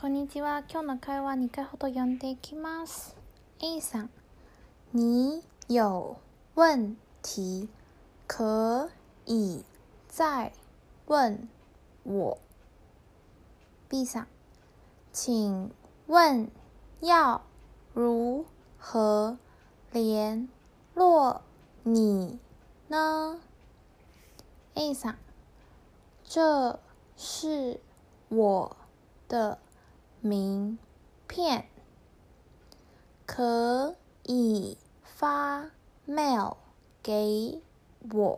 こんにちは。今日の会話2回ほど読んでいきます。A さん、你有问题可以再问我。B さん、请问要如何联络你呢？ A さん、这是我的名片，可以发 mail 给我。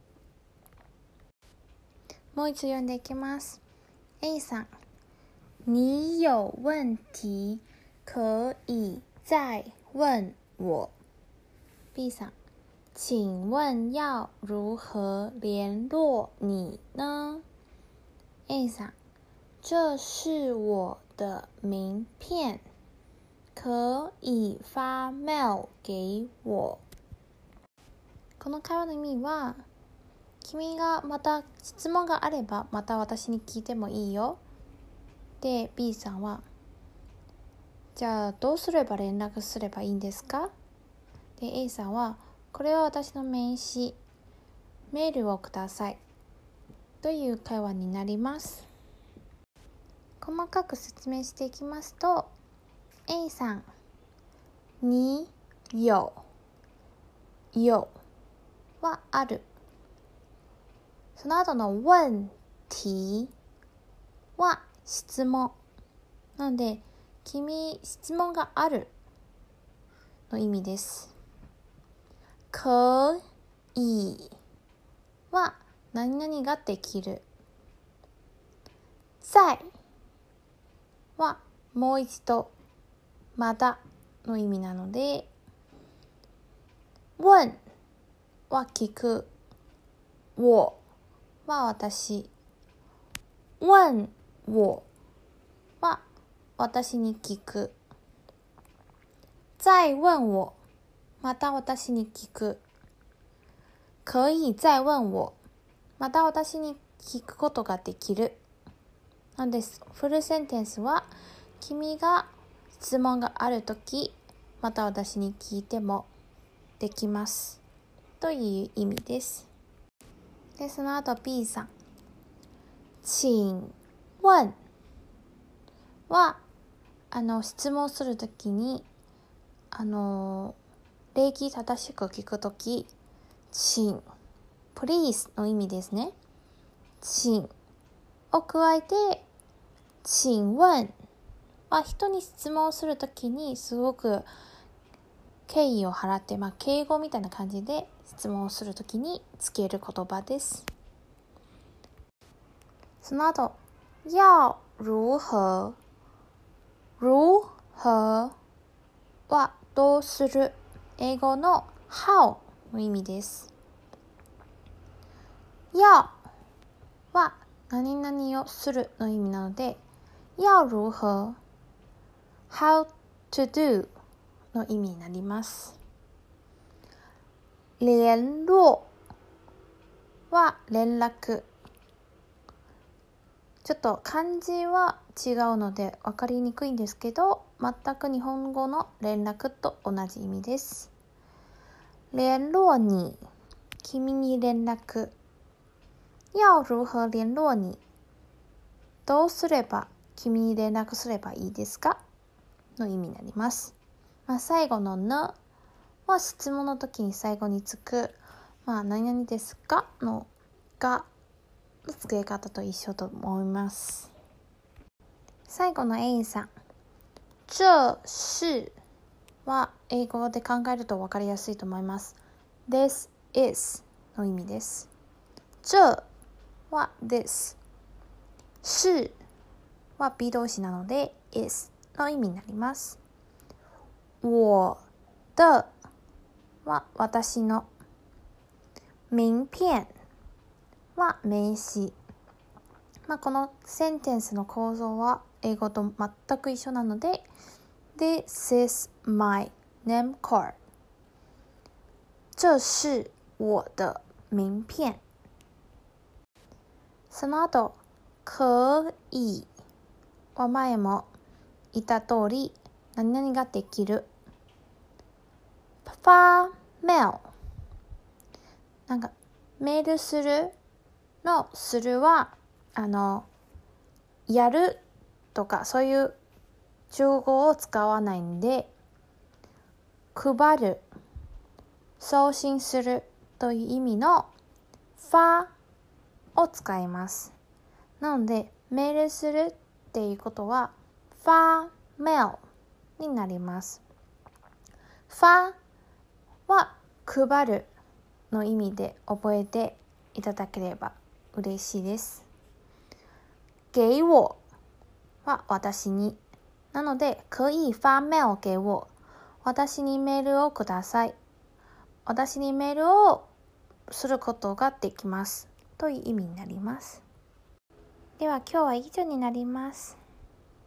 もう一度読んでいきます。A さん、你有问题可以再问我。B さん、请问要如何联络你呢？ A さん、这是我的名片，可以发 mail 给我。この会話の意味は、君がまた質問があればまた私に聞いてもいいよ。で、B さんは、じゃあどうすれば連絡すればいいんですか？で、A さんは、これは私の名刺、メールをください。という会話になります。細かく説明していきますと、A さん、你有はある。その後の問題は質問。なので、君、質問があるの意味です。可以は何々ができる。再はもう一度、まだの意味なので、問は聞く、我は私、問我は私に聞く、再問我また私に聞く、可以再問我また私に聞くことができる。なんです。フルセンテンスは、君が質問があるとき、また私に聞いてもできますという意味です。で、その後 B さん、請問は質問するときに礼儀正しく聞くとき、請 please の意味ですね。請を加えて、請問は人に質問するときにすごく敬意を払って、敬語みたいな感じで質問をするときにつける言葉です。その後、要如何はどうする。英語の how の意味です。要は何々をするの意味なので、要如何 how to do の意味になります。聯絡は連絡。ちょっと漢字は違うので分かりにくいんですけど、全く日本語の連絡と同じ意味です。聯絡你、君に連絡。要如何聯絡你、どうすれば君に連絡すればいいですかの意味になります。最後のなは質問の時に最後につく、何々ですかのがの付け方と一緒と思います。最後の A さん、这是は英語で考えると分かりやすいと思います。This is の意味です。这は this、是は B 動詞なので is の意味になります。我的は私の、名片は名刺。このセンテンスの構造は英語と全く一緒なので、This is my name card。这是我的名片。その後、可以は前も言った通り何々ができる。发mail。なんかメールするのするはやるとかそういう中語を使わないんで、配る、送信するという意味の发を使います。なのでメールするっていうことは发mailになります。发は配るの意味で覚えていただければ嬉しいです。给我は私に。なので、可以发mail给我。私にメールをください。私にメールをすることができます。という意味になります。では今日は以上になります。